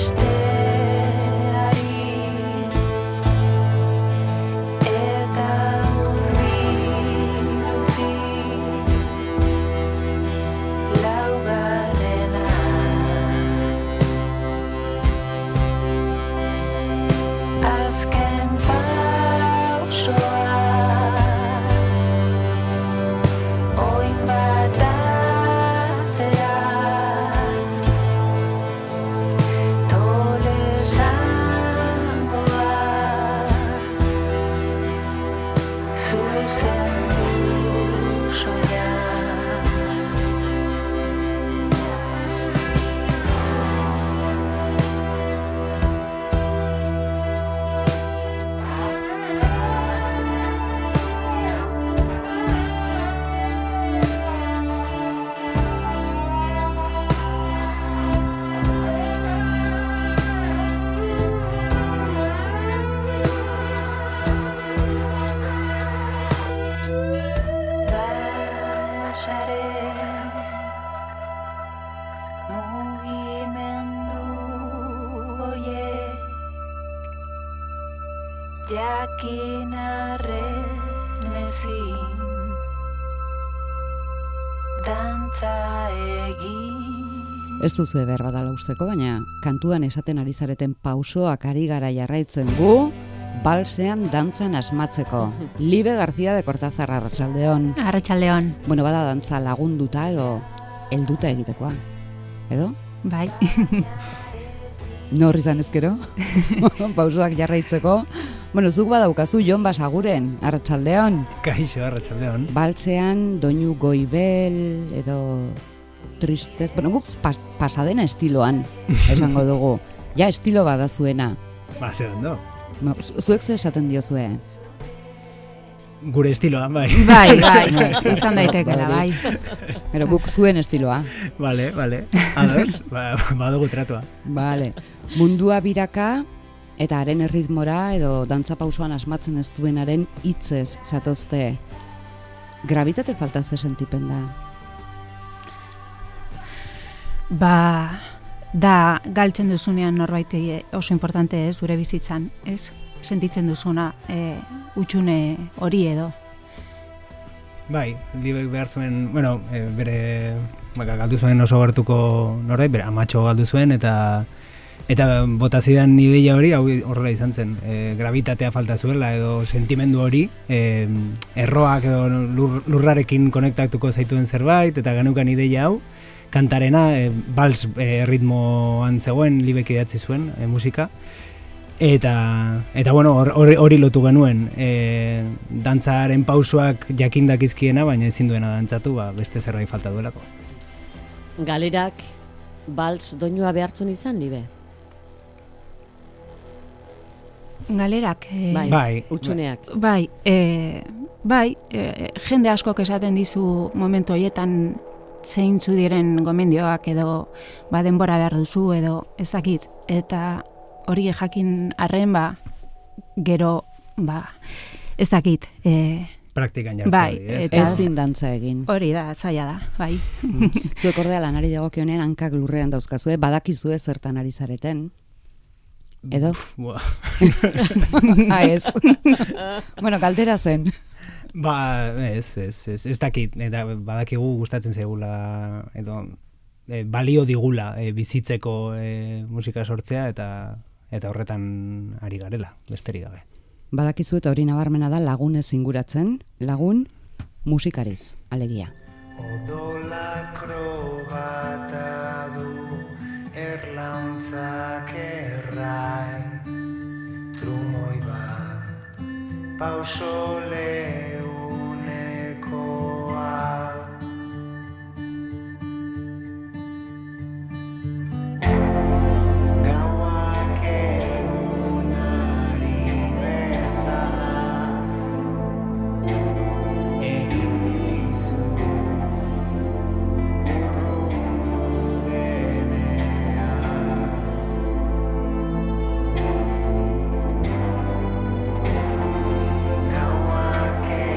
jakin arren ezin dantza egin. Ez duzu behar badala usteko, baina kantuan esaten ari zareten pausoak ari gara jarraitzen gu, balsean dantzan asmatzeko. Libe García de Cortázar, arratsaldeon. Arratsaldeon. Bueno, bada dantza lagunduta edo helduta egitekoa. Edo? Bai. Nor izan ezkero? Pausoak jarraitzeko. Bueno, zuk badaukazu Jon Basaguren, arratsaldeon. Kaixo, arratsaldeon. Balsean doinu goibel edo tristez, bueno, guk pasadena estiloan esango dugu. Ja, estilo bada zuena. Ba, ze ondo. Zuek ze esaten diozue? Gure estiloan, bai. Bai, izan daitekela, bai. Pero guk zuen estiloa. Vale. Ados, badugu tratua. Vale. Mundua biraka eta haren erritmora edo dantza pausoan asmatzen ez duenaren hitzez zatozte. Gravitate falta ze sentipen da? Ba, da galtzen duzunean norbaitei oso importante ez, zure bizitzan, ez? Sentitzen duzuna utxune hori edo. Bai, Libek behar zuen, bueno, bere galdu zuen oso gertuko norbait, bere amatxo galdu zuen eta bota zidan ideia hori, hau horrela izan zen, gravitatea falta zuela edo sentimendu hori, erroak edo lurrarekin konektatuko zaituen zerbait, eta genukan ideia hau, kantarena, bals ritmoan zegoen, Libek idatzi zuen musika, eta bueno, hori lotu genuen, dantzaren pausoak jakindakizkiena, baina ezin duena dantzatu, beste zerbait falta duelako. Galerak bals doinua behartzen izan, Libe? Galerak? Bai. Utsuneak? Bai, jende askok esaten dizu momentu horietan zeintzu diren gomendioak edo denbora behar duzu edo ez dakit, eta hori jakin arren gero ez dakit. Praktikan jartzen bai, hori, ez? Ezin dantza egin. Hori da, zaila da, bai. Zuek ordea lanari dagokionean hankak lurrean dauzkazue, badakizue zertan ari zareten. Edo? Ez. Bueno, galdera zen. Ez dakit, eta badakigu gustatzen zaigula, edo balio digula bizitzeko musika sortzea, eta horretan ari garela, besterik gabe. Badakizu eta hori nabarmena da lagunez inguratzen, lagun musikariz, alegia. Odola krobata du erlauntzak errai trumoi bat pauso leunekoa gauak egunari bezala egin dizu urrundu denean gauak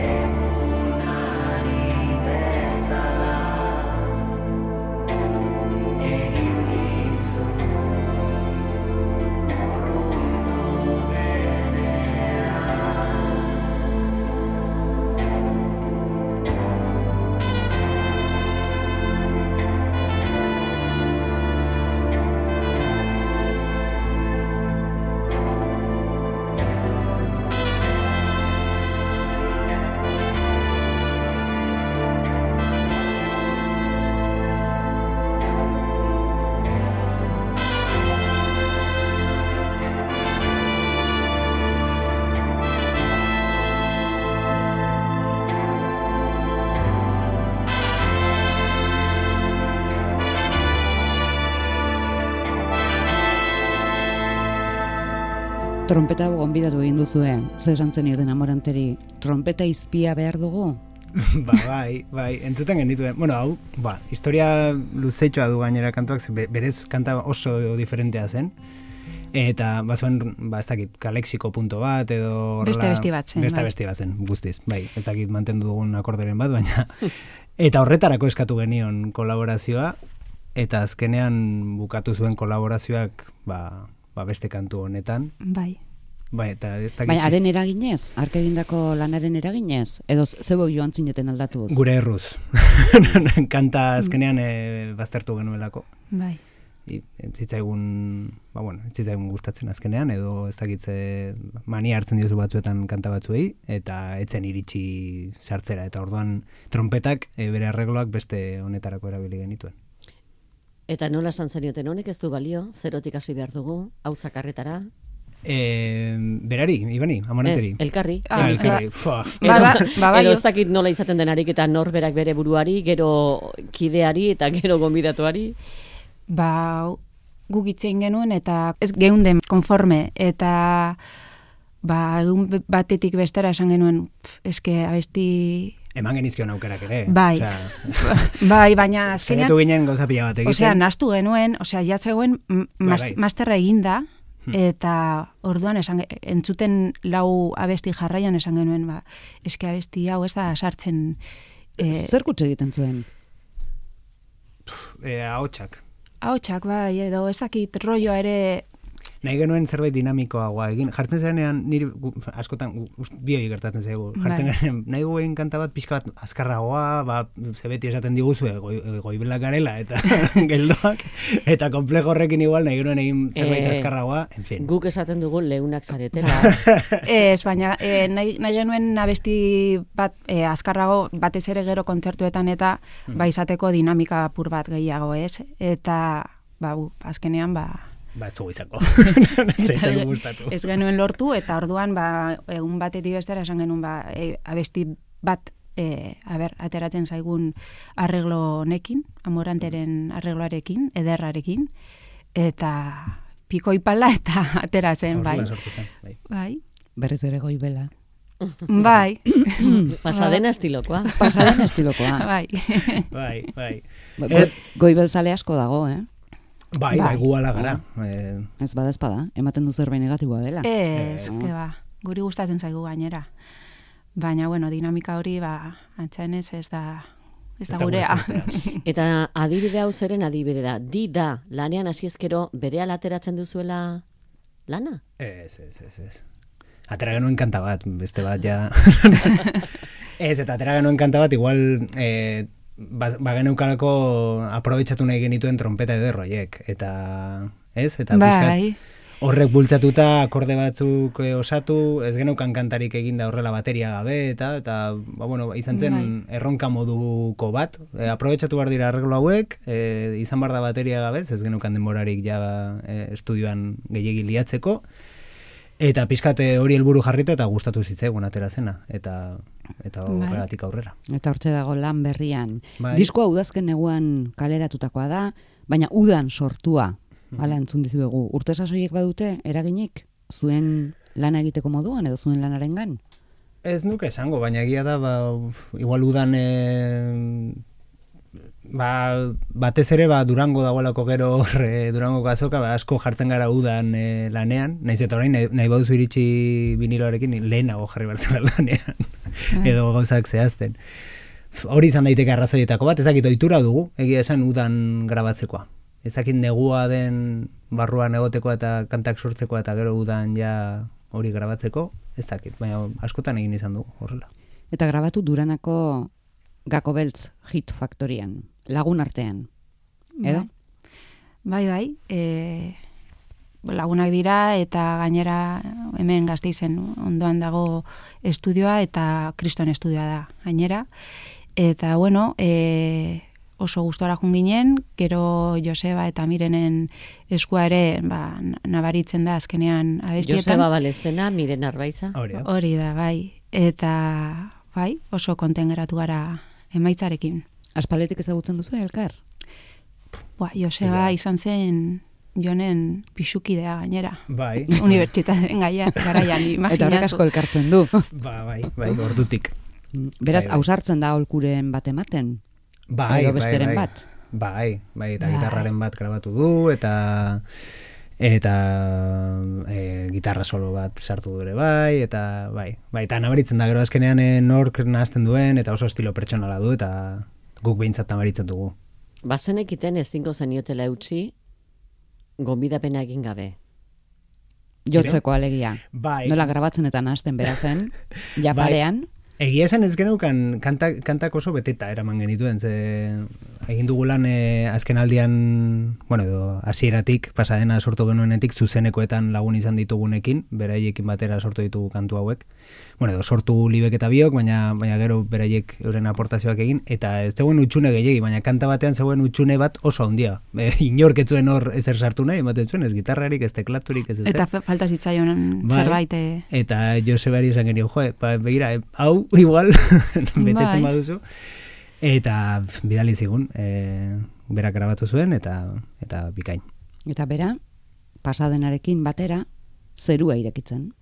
Trompeta gonbidatu egin duzue, ze esan zenioten Amoranteri, trompeta izpia behar dugu? Bai, entzuten genituen. Bueno, hau, historia luzetxoa du gainera kantuak, berez kanta oso diferentea zen. Eta bazuen, ez dakit, kalexiko punto bat, edo Beste abesti bat zen, bai. Beste bat zen, guztiz, bai, ez dakit mantendu dugun akorderen bat, baina eta horretarako eskatu genion kolaborazioa, eta azkenean bukatu zuen kolaborazioak, beste kantu honetan. Bai. Bai, eta ez dakit. Baina, haren eraginez, ark egindako lanaren eraginez, edo zebo joan zineten aldatuz? Gure erruz. Kanta azkenean baztertu genuelako. Bai. Zitzaigun gustatzen azkenean, edo ez dakitze mania hartzen diozu batzuetan kanta batzuei, eta etzen iritsi sartzera, eta orduan trompetak bere arregloak beste honetarako erabili genituen. Eta nola esan zenioten honek ez du balio, zerotik hasi behar dugu, hau zakarretara? Berari, Ibani, Amoranteri. Elkarri. Elkarri. Edo ez dakit nola izaten denarik eta norberak bere buruari, gero kideari eta gero gonbidatuari. Guk itzein genuen eta ez geunden konforme, eta egun batetik bestera esan genuen, eske abesti... Eman genizkion aukerak ere. Bai, bai, baina azkenean... Zainetu ginen gauza pila bat egiten. Nastu genuen, jatzegoen masterra eginda, eta orduan entzuten lau abesti jarraian esan genuen, eske abesti hau ez da sartzen... Zer kutxe egiten zuen? Ahotsak. Ahotsak, bai, edo ezakit rolloa ere... Nahi genuen zerbait dinamikoagoa egin. Jartzen zenean, niri askotan, bioi gertatzen zaigu. Jartzen genean, nahi guen kanta bat, pixka bat azkarragoa, zebeti esaten diguzue, goibelak garela, eta geldoak, eta komplejo horrekin igual, nahi genuen egin zerbait azkarragoa, en fin. Guk esaten dugu leunak zaretela. Ez, baina, nahi genuen abesti bat azkarrago, batez ere gero kontzertuetan, eta izateko dinamika apur bat gehiago, ez? Eta, azkenean, ez dugu izako. Zeitzen gustatu. Ez genuen lortu, eta orduan, egun batetik bestera esan genuen, abesti bat, ateratzen zaigun arreglo honekin, Amoranteren arregloarekin, ederrarekin, eta piko ipala eta ateratzen, bai. Horrela sortu zen, bai. Berriz ere goibela. Bai. Pasadena estilokoa. Bai. Goibel zale asko dago, Bai, gu ala gara. Ez bada, ematen du zerbait negatiboa dela. Ez, guri gustatzen zaigu gainera. Baina, dinamika hori, antzaenez ez da gurea. Eta adibide hau zeren adibide da? Da, lanean hasi ezkero berehala ateratzen duzuela lana? Ez. Atera genuen kanta bat, beste bat ja... Ez, eta atera genuen kanta bat, igual... geneukalako aprobetxatu nahi genituen trompeta ederroiek, eta eta pizkat horrek bultzatuta akorde batzuk osatu, ez geneukan kantarik eginda horrela bateria gabe, eta izan zen erronka moduko bat, aprobetxatu behar dira arreglo hauek, izan behar da bateria gabe, ez geneukan denborarik ja estudioan gehiegi liatzeko, eta pizkat hori helburu jarrita eta gustatu zitzaigun atera zena, eta horregatik aurrera. Eta hortze dago lan berrian. Bai. Diskoa udazken neguan kaleratutakoa da, baina udan sortua, hala entzun dizuegu. Urte sasoiek badute, eraginik, zuen lana egiteko moduan edo zuen lanarengan? Ez nuke esango, baina egia da, igual udan... batez ere Durango dagoelako gero Durangoko azoka, asko jartzen gara udan lanean, nahiz eta orain nahi baduzu iritsi viniloarekin lehenago jarri bartzen lanean, edo gauzak zehazten. Hori izan daiteke arrazoietako bat, ezakit ohitura dugu, egia esan udan grabatzekoa. Ezakit negua den barruan egoteko eta kantak sortzeko eta gero udan ja hori grabatzeko, ez dakit, baina askotan egin izan dugu horrela. Eta grabatu Duranako Gako Beltz hit faktorian, lagun artean, edo? Bai, lagunak dira eta gainera hemen Gasteizen ondoan dago estudioa eta Kriston estudioa da gainera. Eta oso gustora joan ginen, gero Joseba eta Mirenen eskua ere nabaritzen da azkenean abestietan. Joseba Balestena, Miren Arbaiza. Hori da, bai. Eta oso konten geratu gara emaitzarekin. Aspaldetik ezagutzen duzu elkar? Joseba izan zen Jonen pixukidea gainera. Bai. Unibertsitateen garaian imaginatu. Eta horrek asko elkartzen du. Bai, ordutik. Beraz, Bai. ausartzen da aholkuren bat ematen. Bai, Edo besteren bat. Bai, eta Bai. gitarraren bat grabatu du, eta gitarra solo bat sartu du ere bai, eta eta nabaritzen da gero azkenean nork nahazten duen, eta oso estilo pertsonala du, eta guk behintzat nabaritzen dugu. Bazenekiten ezingo zeniotela eutxi, gonbidapena egin gabe. Jotzeko alegia. Bai. Nola grabatzen eta nahasten berazen, japarean. Egia esan ez geneukan kantak oso beteta eraman genituen, ze egin dugu lan azken aldian, bueno, edo hasieratik pasadena sortu genuenetik zuzenekoetan lagun izan ditugunekin, beraiekin batera sortu ditugu kantu hauek. Bueno, edo sortu Libek eta biok, baina gero beraiek euren aportazioak egin, eta ez zegoen utxune gehiegi, baina kanta batean zegoen utxune bat oso handia. Inork ez zuen hor ezer sartu nahi, ematen zuen, ez gitarrarik, ez teklaturik, ez ezer. Eta falta zitzaion zerbait. Eta Josebari esan genio, begira, hau igual betetzen baduzu. Eta bidali zigun, berak grabatu zuen, eta bikain. Eta bera, pasadenarekin batera, zerua irekitzen.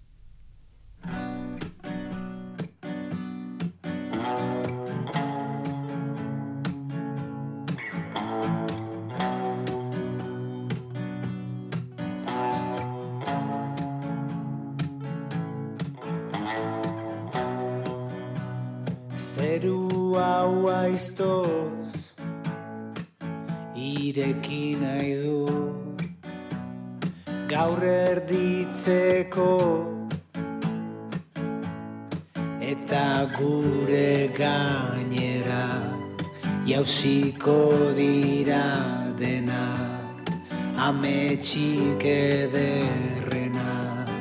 Zeru hau aiztoz ireki nahi du gaur erditzeko eta gure gainera jausiko dira dena ametxik ederrena.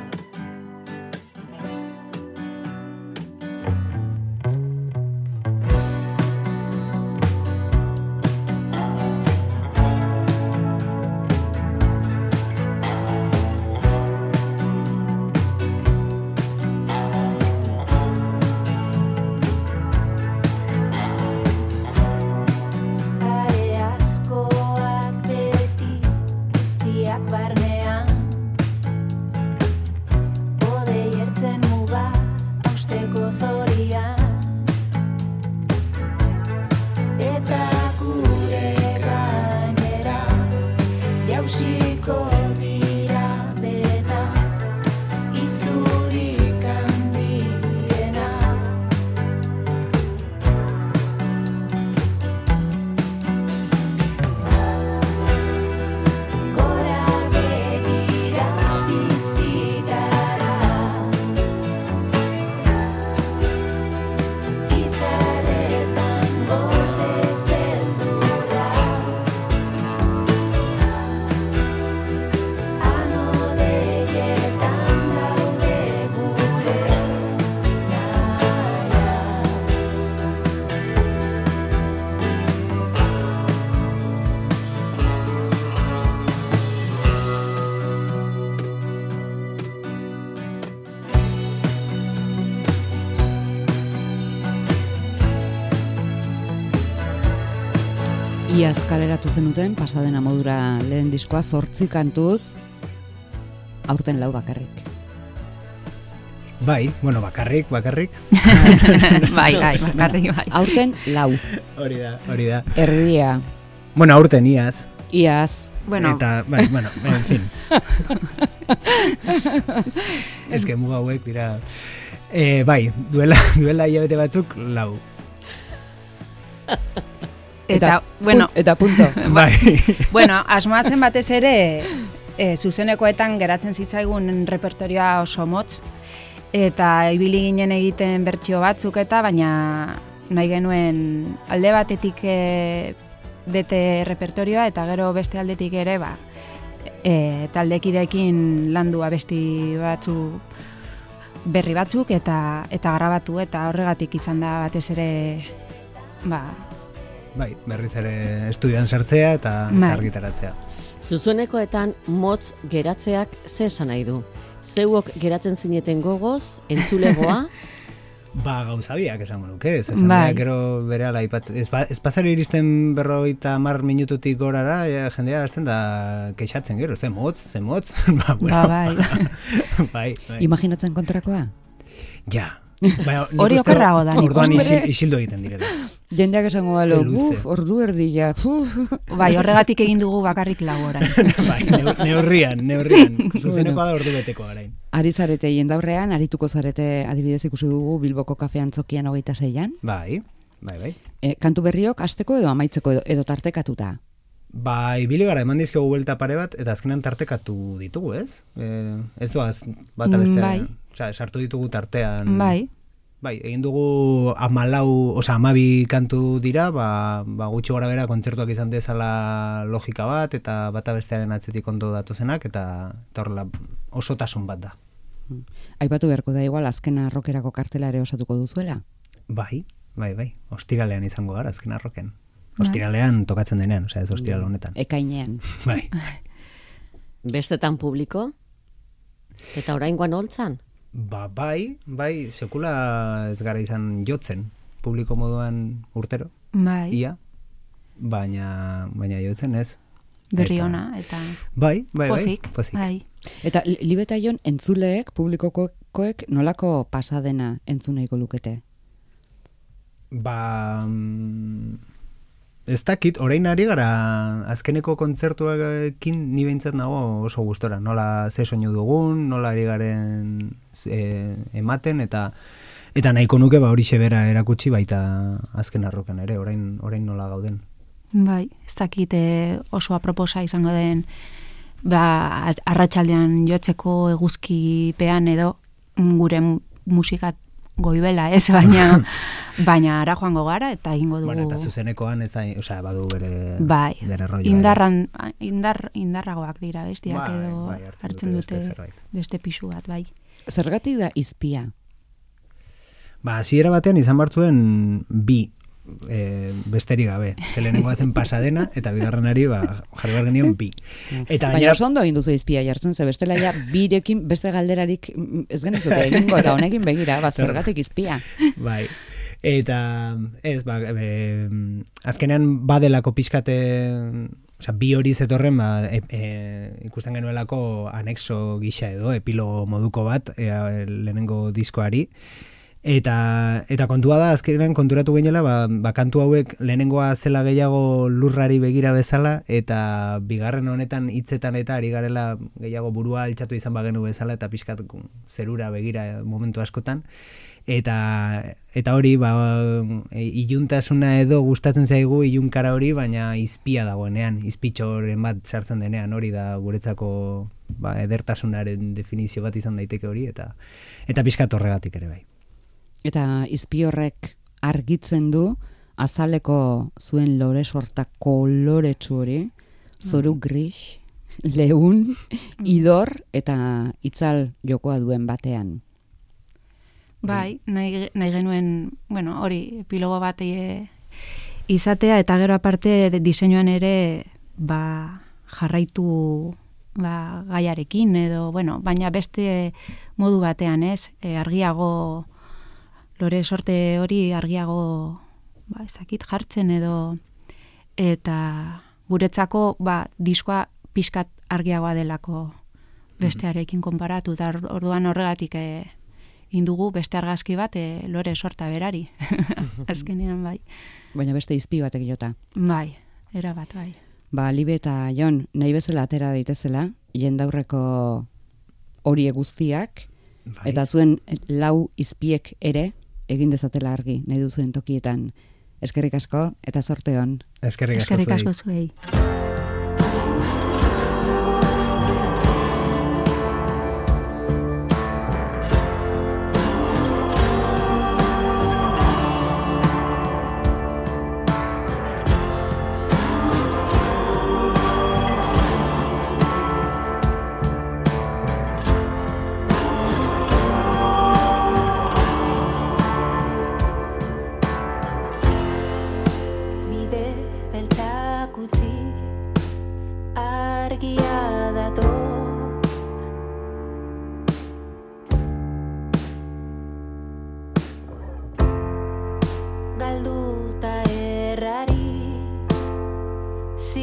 Iaz kaleratu zenuten, pasadena modura lehen diskoa 8 kantuz, aurten 4 bakarrik. Bai, bueno, bakarrik. Bai, bakarrik, bai. Aurten 4. Hori da. Erdia. Bueno, aurten iaz. Iaz. Bueno, Eta, bueno, en fin. Ez que muga hauek dira... bai, duela hilabete batzuk 4. eta bueno, Eta punto. Bai. bueno, asmoa zen batez ere zuzenekoetan geratzen zitzaigun repertorioa oso motz, eta ibili ginen egiten bertsio batzuk eta, baina nahi genuen alde batetik bete repertorioa eta gero beste aldetik ere taldekideekin landu abesti batzu berri batzuk eta grabatu, eta horregatik izan da batez ere Bai, berriz ere estudioan sartzea eta argitaratzea. Zuzenekoetan motz geratzeak ze esan nahi du? Zeuok geratzen zineten gogoz, entzulegoa? Ba, gauzabiak esango nuke, jendeak gero berehala aipatzen. Ez pasari iristen 50 minututik gorara, jendea azten da kexatzen gero, ze motz. Bai. Imaginatzen kontrakoa? Ja. Hori okerrago da. Orduan isildo egiten direla. Jendeak esango balo, ordu erdia. Bai, horregatik egin dugu bakarrik lau orain. Bai, neurrian. Zuzenekoa da ordu beteko orain. Ari zarete jendaurrean, arituko zarete adibidez ikusi dugu Bilboko kafean txokian 26an. Bai. Kantu berriok hasteko edo amaitzeko edo tartekatuta? Bai, ibili gara eman dizkegu buelta pare bat, eta azkenan tartekatu ditugu, ez? Ez doaz bata bestean, sartu ditugu tartean. Bai, egin dugu 12 kantu dira, gutxi gora bera kontzertuak izan dezala logika bat, eta bata bestearen atzetik ondo datozenak, eta horrela osotasun bat da. Aipatu beharko da igual, azkena rokerako kartela ere osatuko duzuela? Bai. Ostiralean izango gara, azkena roken. Ostiralean tokatzen denean, ez ostiral honetan. Ekainean. Bai. Bestetan publiko? Eta oraingoan holtzan? Bai, sekula ez gara izan jotzen, publiko moduan urtero. Bai. Ia, baina jotzen ez. Berri ona, eta... Bai. Pozik. Bai. Eta Libeta Jon entzuleek, publikokoek nolako pasadena entzuneko lukete? Ez dakit, orain ari gara azkeneko kontzertuekin ni behintzat nago oso gustora. Nola ze soinu dugun, nola ari garen ematen, eta nahiko nuke horixe bera erakutsi baita azken arroken ere, orain nola gauden. Bai, ez dakit oso aproposa izango den arratsaldean jotzeko eguzkipean edo gure musikat goibela, ez, baina ara joango gara eta egingo dugu. Eta zuzenekoan ez da, badu bere rolloa. Indarragoak dira bestiak edo hartzen dute beste pisu bat, bai. Zergatik da izpia? Hasiera batean izan bartzuen bi besterik gabe. Zelenengoa zen pasadena eta bigarrenari jarri behar genion bi. Baina oso ondo egin duzu izpia jartzen, ze bestela ja birekin beste galderarik ez genizute egingo eta honekin begira, zergatik izpia. Bai. Eta ez, azkenean badelako pixkate, bi hori zetorren ikusten genuelako anexo gisa edo, epilogo moduko bat lehenengo diskoari. Eta kontua da, azkenean konturatu gehiela, kantu hauek lehenengoa zela gehiago lurrari begira bezala, eta bigarren honetan hitzetan eta ari garela gehiago burua altxatu izan bagenu bezala, eta pixkat zerura begira momentu askotan. Eta hori, iluntasuna edo gustatzen zaigu ilunkara hori, baina izpia dagoenean, izpitxoren bat sartzen denean, hori da guretzako edertasunaren definizio bat izan daiteke hori, eta pixkat horregatik ere bai. Eta izpi horrek argitzen du azaleko zuen lore sorta koloretsu hori, zoru gris, leun, idor eta itzal jokoa duen batean. Bai, nahi genuen, hori epilogo bat izatea, eta gero aparte diseinuan ere jarraitu gaiarekin edo, baina beste modu batean, ez, argiago lore sorte hori argiago ezakit jartzen edo, eta guretzako diskoa pixkat argiagoa delako bestearekin konparatu, eta orduan horregatik indugu beste argazki bat lore sorta berari. Azkenean bai. Baina beste izpi batek jota. Bai, erabat bai. Libe eta Jon, nahi bezala atera daitezela, jendaurreko hori guztiak, eta zuen lau izpiek ere, egin dezatela argi, nahi duzuen tokietan. Eskerrik asko, eta zorte hon. Eskerrik asko zuei. Beltzak utzi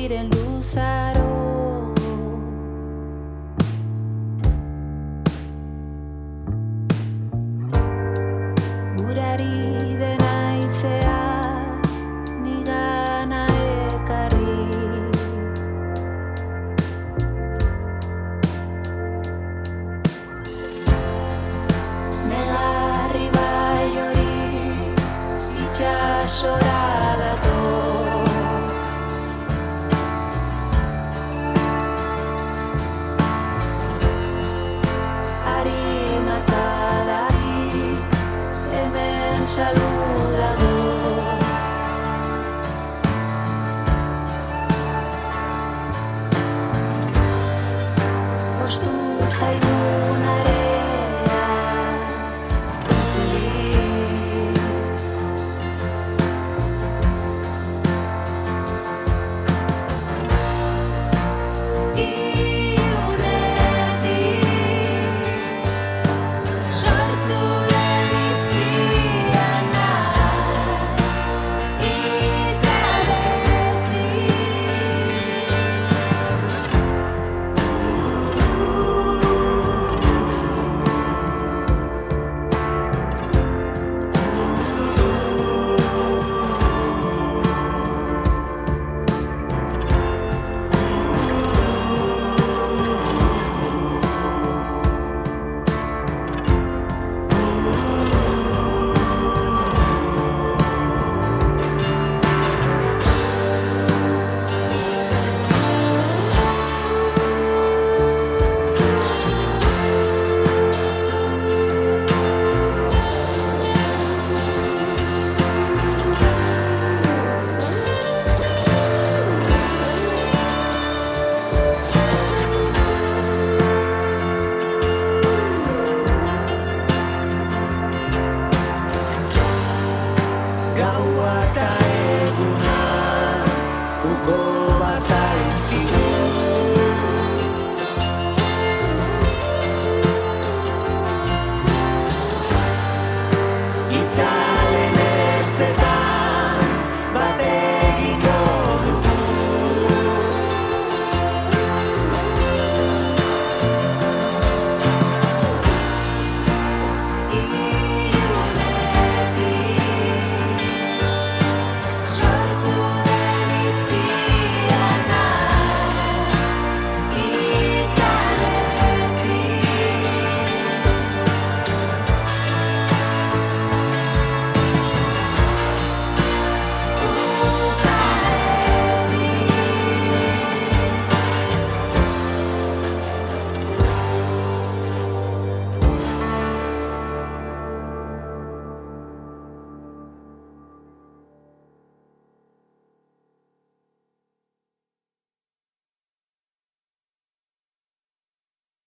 diren luzaro. Gurari dena izea nigana ekarri. Negarri bai hori itxasora dator. Saludago. Ostu zaigunare